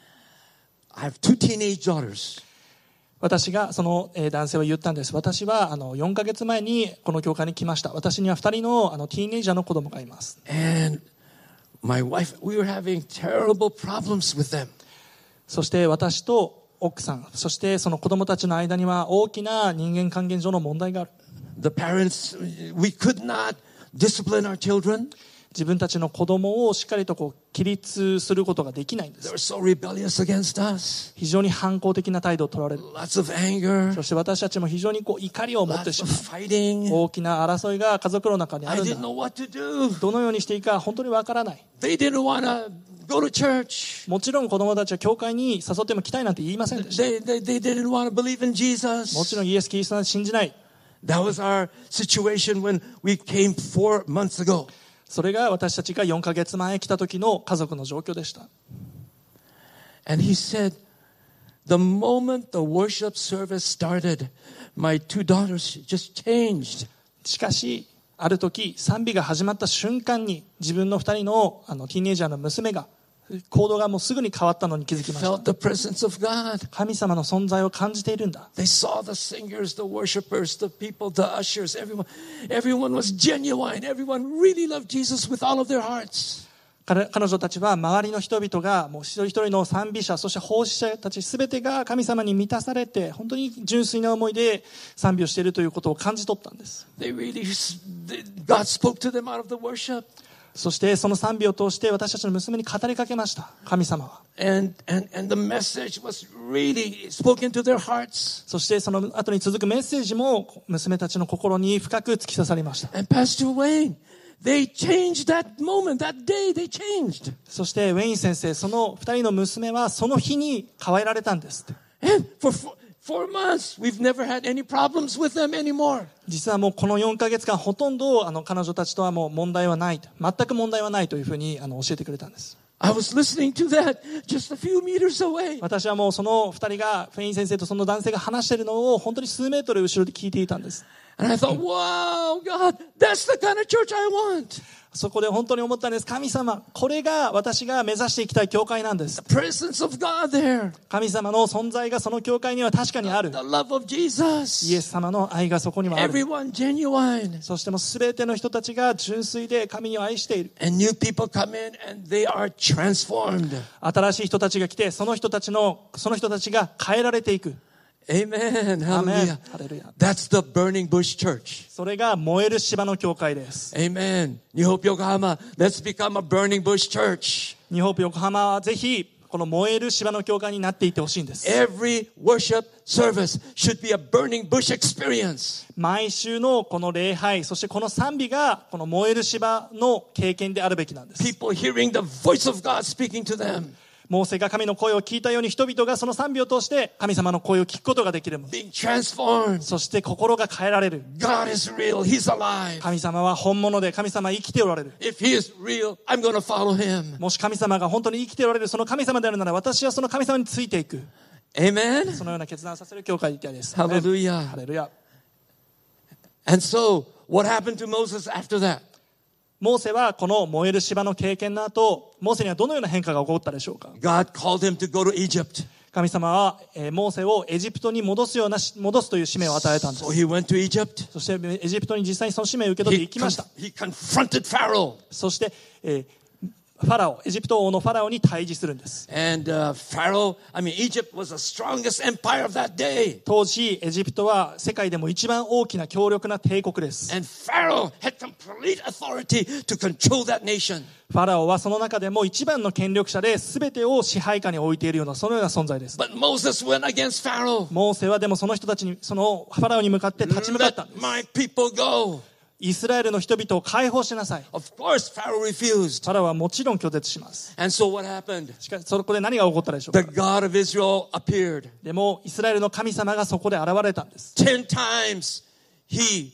I have two teenage daughters. 私がその、えー男性は言ったんです。私はあのよんかげつまえにこの教会に来ました。私にはふたりのあのティーンエイジャーの子供がいます。 And my wife, we were having terrible problems with them. そして私と奥さん、そしてその子供たちの間には大きな人間関係上の問題がある。 The parents, we could not discipline our children. 自分たちの子供をしっかりとこう規律することができないんで They す。 were so rebellious against us. 非常に反抗的な態度を取られる。 Lots of anger, そして私たちも非常にこう怒りを持って lots し of まう。 fighting. 大きな争いが家族の中にあ I るん didn't だ。 know what to do. どのようにしていいか本当にわからない。 They didn't want to go to church. もちろん子供たちは教会に誘っても来たいなんて言いませんでした。 They, they, they didn't want to believe in もち Jesus. ろんイエス・キリストを信じない。 That was our situation when we came four months ago. それが私たちがよんかげつまえ来た時の家族の状況でした。 And he said, the moment the worship service started, my two daughters just changed. しかしある時賛美が始まった瞬間に自分のふたりのあのティーンエイジャーの娘が行動がもうすぐに変わったのに気づきました。 Felt the presence of God. 神様の存在を感じているんだ。 They saw the singers, the worshipers, the people, the ushers, everyone. Everyone was genuine. Everyone really loved Jesus with all of their hearts. 彼彼女たちは周りの人々がもう一人一人の賛美者、そして奉仕者たちすべてが神様に満たされて、本当に純粋な思いで賛美をしているということを感じ取ったんです。 They really, God spoke to them out of the worship. そしてその賛美を通して私たちの娘に語りかけました。神様は。 And, and, and the message was really spoken to their hearts. そしてその後に続くメッセージも娘たちの心に深く突き刺さりました。 And Pastor Wayne, they changed that moment, that day, they changed. そしてウェイン先生、その二人の娘はその日に変えられたんです。 And for four, four months, we've never had any problems with them anymore. 実はもうこのよんかげつかんほとんどあの彼女たちとはもう問題はない、全く問題はないというふうにあの教えてくれたんです。 I was listening to that just a few meters away. 私はもうその二人がフェイン先生とその男性が話しているのを本当に数メートル後ろで聞いていたんです。 And I thought, wow, God, that's the kind of church I want. そこで本当に思ったんです。神様、これが私が目指していきたい教会なんです。 The presence of God there. 神様の存在がその教会には確かにある。 The love of Jesus. イエス様の愛がそこにはある。 Everyone genuine. そしてもう全ての人たちが純粋で神を愛している。 And new people come in and they are transformed. 新しい人たちが来て、その人たちの、その人たちが変えられていく。 Amen. Hallelujah. Hallelujah. That's the Burning Bush Church. それが燃える芝の教会です。 Amen. New Hope Yokohama, let's become a Burning Bush Church. ニューホープ横浜はぜひこの燃える芝の教会になっていってほしいんです。 Every worship service should be a burning bush experience. 毎週のこの礼拝、そしてこの賛美がこの燃える芝の経験であるべきなんです。 People hearing the voice of God speaking to them. モーセが神の声を聞いたように人々がその賛美を通して神様の声を聞くことができるもの。 Being transformed. そして心が変えられる。 God is real. He's alive. 神様は本物で神様は生きておられる。 If He is real, I'm going to follow Him. もし神様が本当に生きておられるその神様であるなら私はその神様についていく。 Amen. そのような決断をさせる教会でいたいです。 Hallelujah. ハレルヤ。 And so, what happened to Moses after that? モーセはこの燃える芝の経験の後、モーセにはどのような変化が起こったでしょうか。 God called him to go to Egypt. 神様は、えー、モーセをエジプトに戻すような戻すという使命を与えたんです。 So he went to Egypt. そしてエジプトに実際にその使命を受け取って He, いきました。 he confronted Pharaoh. そして、えーファラオ、エジプト王のファラオに対峙するんです。 And uh, Pharaoh, I mean, Egypt was the strongest empire of that day. 当時、エジプトは世界でも一番大きな強力な帝国です。 And Pharaoh had complete authority to control that nation. ファラオはその中でも一番の権力者で全てを支配下に置いているようなそのような存在です。 But Moses went against Pharaoh. モーセはでもその人たちに、そのファラオに向かって立ち向かったんで Let す。 my people go. イスラエルの人々を解放しなさい。 Of course, Pharaoh フ refused. ァラオはもちろん拒絶します。 And so what happened? しかしそこで何が起こったでしょう The か。 God of Israel appeared. でもイスラエルの神様がそこで現れたんです。 Ten times he,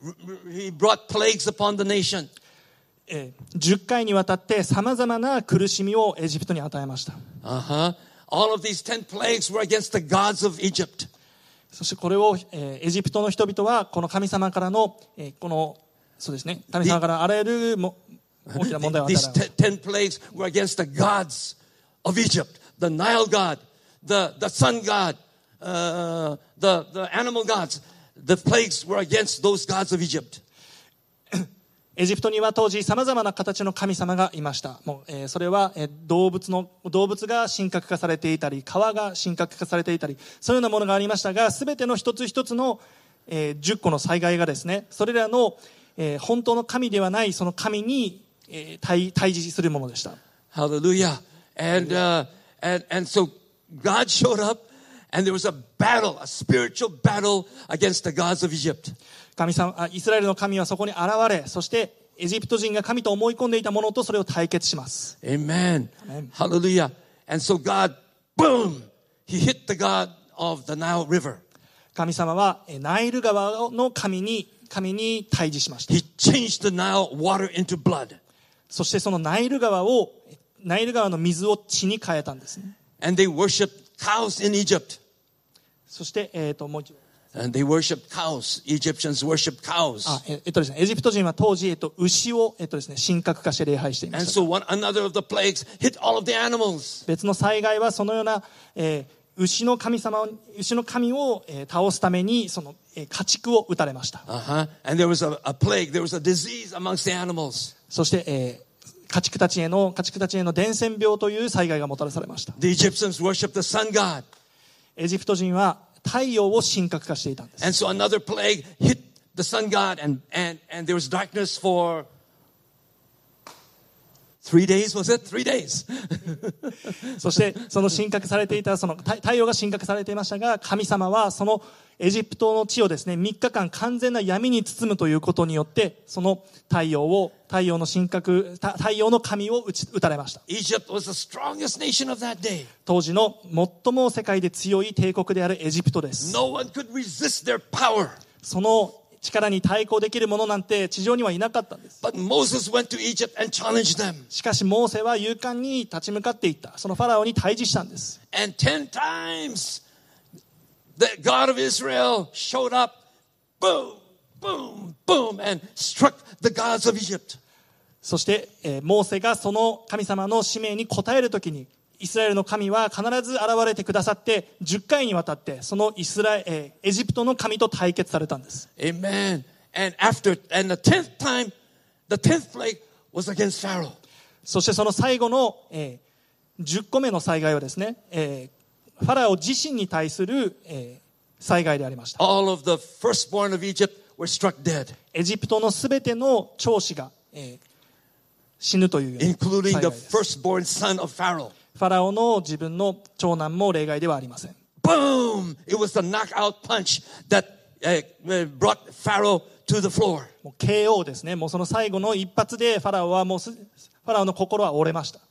he brought plagues upon the nation. えー、じゅっかいにわたって様々な苦しみをエジプトに与えました。 Uh-huh. All of these ten plagues were against the gods of Egypt. そしてこれを、えー、エジプトの人々はこの神様からの、えー、このそうですね、神様からあらゆるも大きな問題を与えられました。 These ten plagues were against the gods of Egypt. The Nile god, the, the sun god, uh, the, the animal gods. The plagues were against those gods of Egypt. エジプトには当時様々な形の神様がいました。もう、えー、それは、えー、動物の動物が神格化されていたり、川が神格化されていたり、そういうようなものがありましたが、すべての一つ一つの、えー、じゅっこの災害がですね、それらの、えー、本当の神ではないその神に、えー、対対峙するものでした。 Hallelujah. And uh, and and so God showed up, and there was a battle, a spiritual battle against the gods of Egypt. 神様、あ、イスラエルの神はそこに現れ、そしてエジプト人が神と思い込んでいたものとそれを対決します。 Amen. Amen. Hallelujah. And so God, boom, He hit the God of the Nile River. 神様はえナイル川の神に神に対峙しました。 He changed the Nile water into blood. そしてそのナイル川をナイル川の水を血に変えたんですね。 And they worshipped cows in Egypt. そして、えー、ともう一度 And they worshipped cows. Egyptians worshipped cows. あええっとですね、エジプト人は当時、えっと、牛を、えっとですね、神格化して礼拝していま And した。 so one another of the plagues hit all of the animals. 別の災害はそのような、えー牛の神様を牛の神を、えー倒すためにその、えー家畜を打たれました。 Uh-huh. And there was a, a plague. There was a disease amongst the animals. そして、えー家畜たちへの家畜たちへの伝染病という災害がもたらされました。 The Egyptians worshipped the sun god. エジプト人は太陽を神格化していたんです。 And so another plague hit the sun god, and, and, and there was darkness for three days, was it? Three days. そしてその神格されていたその太太陽が神格されていましたが、神様はそのエジプトの地をですねみっかかん完全な闇に包むということによって、その太陽を太陽の神格た太陽の神を打ち打たれました。 Egypt was the strongest nation of that day. 当時の最も世界で強い帝国であるエジプトです。 No one could resist their power. その力に対抗できる者なんて地上にはいなかったんです。 But Moses went to Egypt and challenged them. しかしモーセは勇敢に立ち向かっていった。そのファラオに対峙したんです。 And ten times the God of Israel showed up, boom, boom, boom, and struck the gods of Egypt. そして、えーモーセがその神様の使命に応えるときに、イスラエルの神は必ず現れてくださって、じゅっかいにわたってそのイスラエ、えーエジプトの神と対決されたんです。 Amen. And after, and the tenth time, the tenth plague was against Pharaoh. そしてその最後の、えーじゅっこめの災害はですね、えーファラオ自身に対する、えー災害でありました。 All of the firstborn of Egypt were struck dead, エジプトのすべての長子が、えー死ぬというような including 災 the 害です。 firstborn son of Pharaoh. ファラオの自分の長男も例外ではありません。 Boom! It was the knockout punch that uh, brought Pharaoh to the floor. もう ケーオー ですね。もうその最後の一発でファラオはもうすファラオの心は折れました。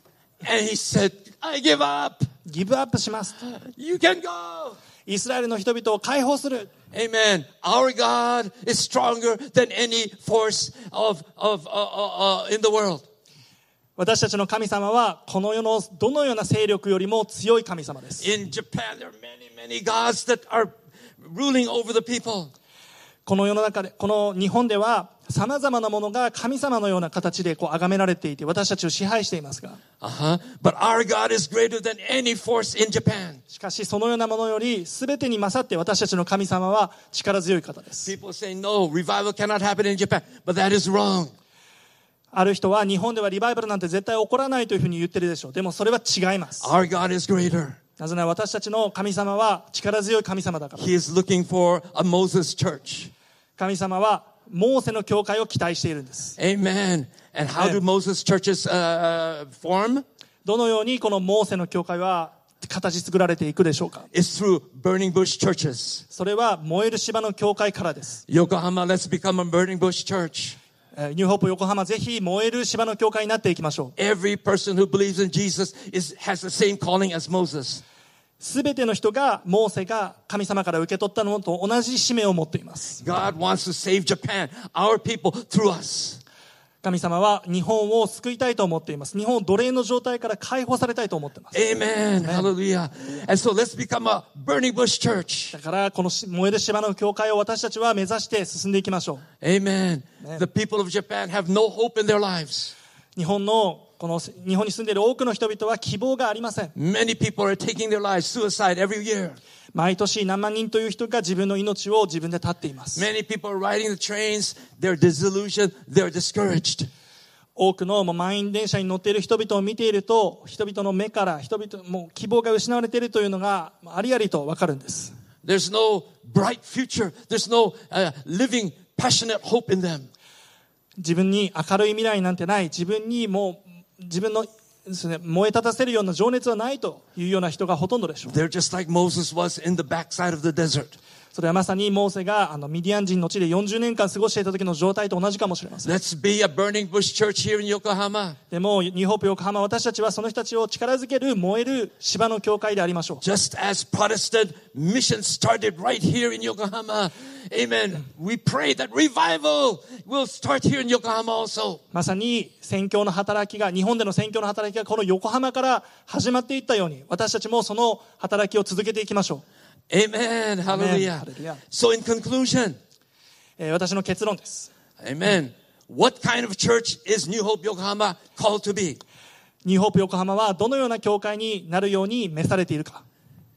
And he said, I give up. ギブアップします。 You can go. イスラエルの人々を解放する。 Amen. Our God is stronger than any force of, of, uh, uh, uh, in the world. 私たちの神様はこの世のどのような勢力よりも強い神様です。 In Japan, there are many, many gods that are ruling over the people. この世の中で、この日本では様々なものが神様のような形でこう崇められていて、私たちを支配していますが、 Uh-huh. But our God is greater than any force in Japan. しかしそのようなものより全てに勝って私たちの神様は力強い方です。 People say, no, revival cannot happen in Japan. But that is wrong. ある人は日本ではリバイバルなんて絶対起こらないというふうに言ってるでしょう。でもそれは違います。 Our God is greater. なぜなら私たちの神様は力強い神様だから。 He is looking for a Moses church. 神様はモーセの教会を期待しているんです。 Amen. And how do Moses churches uh, form? どのようにこのモーセの教会は形作られていくでしょうか。 It's through burning bush churches. それは燃える芝の教会からです。 Yokohama, let's become a burning bush church. えーニューホープ横浜、ぜひ燃える芝の教会になっていきましょう。 Every person who believes in Jesus is, has the same calling as Moses. すべての人がモーセが神様から受け取ったのと同じ使命を持っています。 God wants to save Japan, our people, through us. 神様は日本を救いたいと思っています。日本を奴隷の状態から解放されたいと思っています。 Amen. Hallelujah. And so let's become a burning bush church. だからこの燃える芝の教会を私たちは目指して進んでいきましょ Amen. The people of Japan have no hope in their lives. う。日本のこの日本に住んでいる多くの人々は希望がありません。 Many people are taking their lives, suicide every year. 毎年何万人という人が自分の命を自分で絶っています。 Many people are riding the trains. They're disillusioned. They're discouraged. 多くのもう満員電車に乗っている人々を見ていると、人々の目から人々もう希望が失われているというのがありありと分かるんです。 There's no bright future. There's no uh, living, passionate hope in them. 自分に明るい未来なんてない、自分にもう自分のですね、燃え立たせるような情熱はないというような人がほとんどでしょう。 They're just like Moses was in the backside of the desert. それはまさにモーセがあのミディアン人の地でよんじゅうねんかん過ごしていた時の状態と同じかもしれません。 Let's be a burning bush church here in Yokohama. でもニューホープ横浜、私たちはその人たちを力づける燃える芝の教会でありましょう。 Just as Protestant mission started right here in Yokohama. Amen. We pray that revival will start here in Yokohama also. まさに宣教の働きが、日本での宣教の働きがこの横浜から始まっていったように、私たちもその働きを続けていきましょう。 Amen. Hallelujah. Hallelujah. So in conclusion, えー私の結論です。 Amen. What kind of church is New Hope Yokohama called to be? ニューホープ横浜はどのような教会になるように召されているか。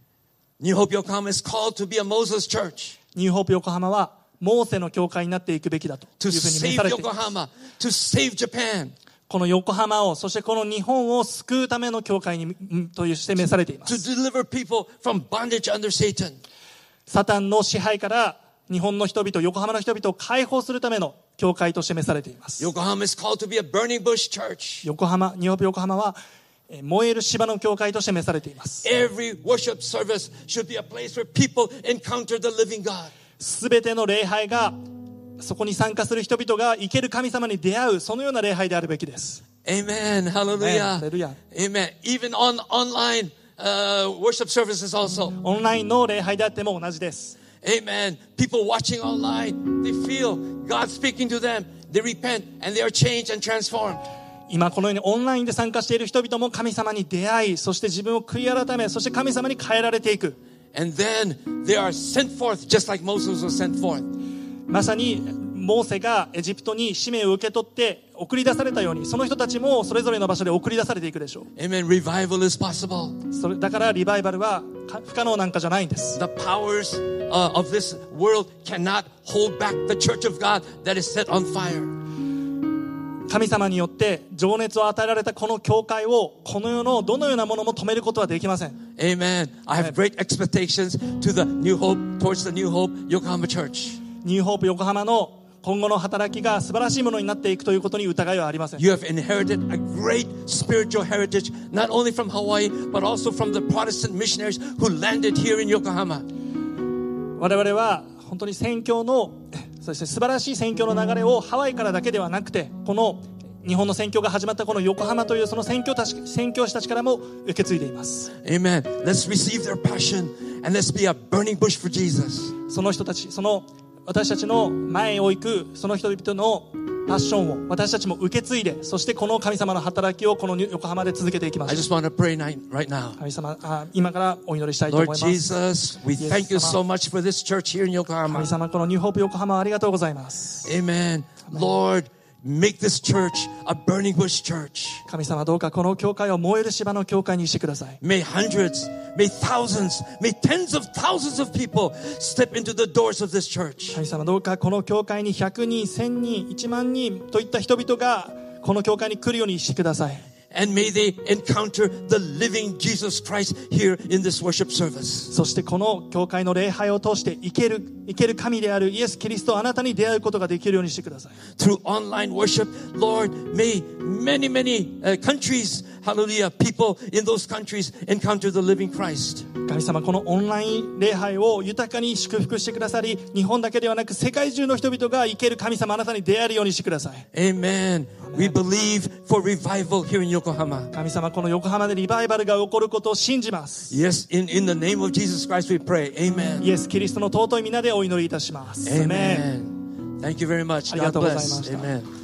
New Hope Yokohama is called to be a Moses church. ニューホープ横浜はモーセの教会になっていくべきだとい To うふうに召 save されています。 Yokohama. To save Japan. この横浜を、そしてこの日本を救うための教会にんとして召されていま To す。 deliver people from bondage under Satan. サタンの支配から日本の人々、横浜の人々を解放するための教会として召されています。 Yokohama is called to be a burning bush church. 横浜、ニューホープ横浜はえー燃える芝の教会として召されています。 Every worship service should be a place where people encounter the living God. すべての礼拝がそこに参加する人々が生ける神様に出会う、そのような礼拝であるべきです。 Amen. Hallelujah. Hallelujah. Amen. Even on online uh, worship services also. オンラインの礼拝であっても同じです。 Amen. People watching online, they feel God speaking to them. They repent and they are changed and transformed. 今このようにオンラインで参加している人々も神様に出会い、そして自分を悔い改め、そして神様に変えられていく。 And then they are sent forth just like Moses was sent forth. まさにモーセがエジプトに使命を受け取って送り出されたように、その人たちもそれぞれの場所で送り出されていくでしょう。 Amen. Revival is possible. それだからリバイバルは不可能なんかじゃないんです。 The powers uh, of this world cannot hold back the church of God that is set on fire. 神様によって情熱を与えられたこの教会を、この世のどのようなものも止めることはできません。 Amen. I have great expectations to the New Hope, towards the New Hope Yokohama Church. ニューホープ横浜の今後の働きが素晴らしいものになっていくということに疑いはありません。 You have inherited a great spiritual heritage, not only from Hawaii, but also from the Protestant missionaries who landed here in Yokohama. 我々は本当に宣教の、そして素晴らしい宣教の流れをハワイからだけではなくて、この日本の宣教が始まったこの横浜というその宣教たち、宣教師たちからも受け継いでいます。 Amen. Let's receive their passion and let's be a burning bush for Jesus. その人たち、その私たちの前を行くその人々のパッションを私たちも受け継いで、そしてこの神様の働きをこの横浜で続けていきま I す。 just want to pray right now. 神様、あ今からお祈りしたいと思い Lord ます。 Jesus, we thank you so much for this church here in 神 Yokohama. 様、このニューホープ横浜ありがとうございます。 Amen. Lord, make this church a burning bush church. 神様、どうかこの教会を燃える芝の教会にしてください。 May hundreds, may thousands, may tens of thousands of people step into the doors of this church. 神様、どうかこの教会にひゃくにん、せんにん、いちまんにんといった人々がこの教会に来るようにしてください。 And may they encounter the living Jesus Christ here in this worship service. そしてこの教会の礼拝を通して生ける生ける神であるイエス・キリスト、あなたに出会うことができるようにしてください。 Through online worship, Lord, may many, many uh, countries, hallelujah, people in those countries encounter the living Christ. 神様、このオンライン礼拝を豊かに祝福してくださり、日本だけではなく世界中の人々が生ける神様、あなたに出会えるようにしてください。 Amen. We believe for revival here in Yokohama. 神様、この横浜でリバイバルが起こることを信じます。 Yes, in, in the name of Jesus Christ we pray. Amen. イエス・キリストの尊い皆でお祈りいたします。 Amen. Thank you very much. God bless. ありがとうございました。 Amen.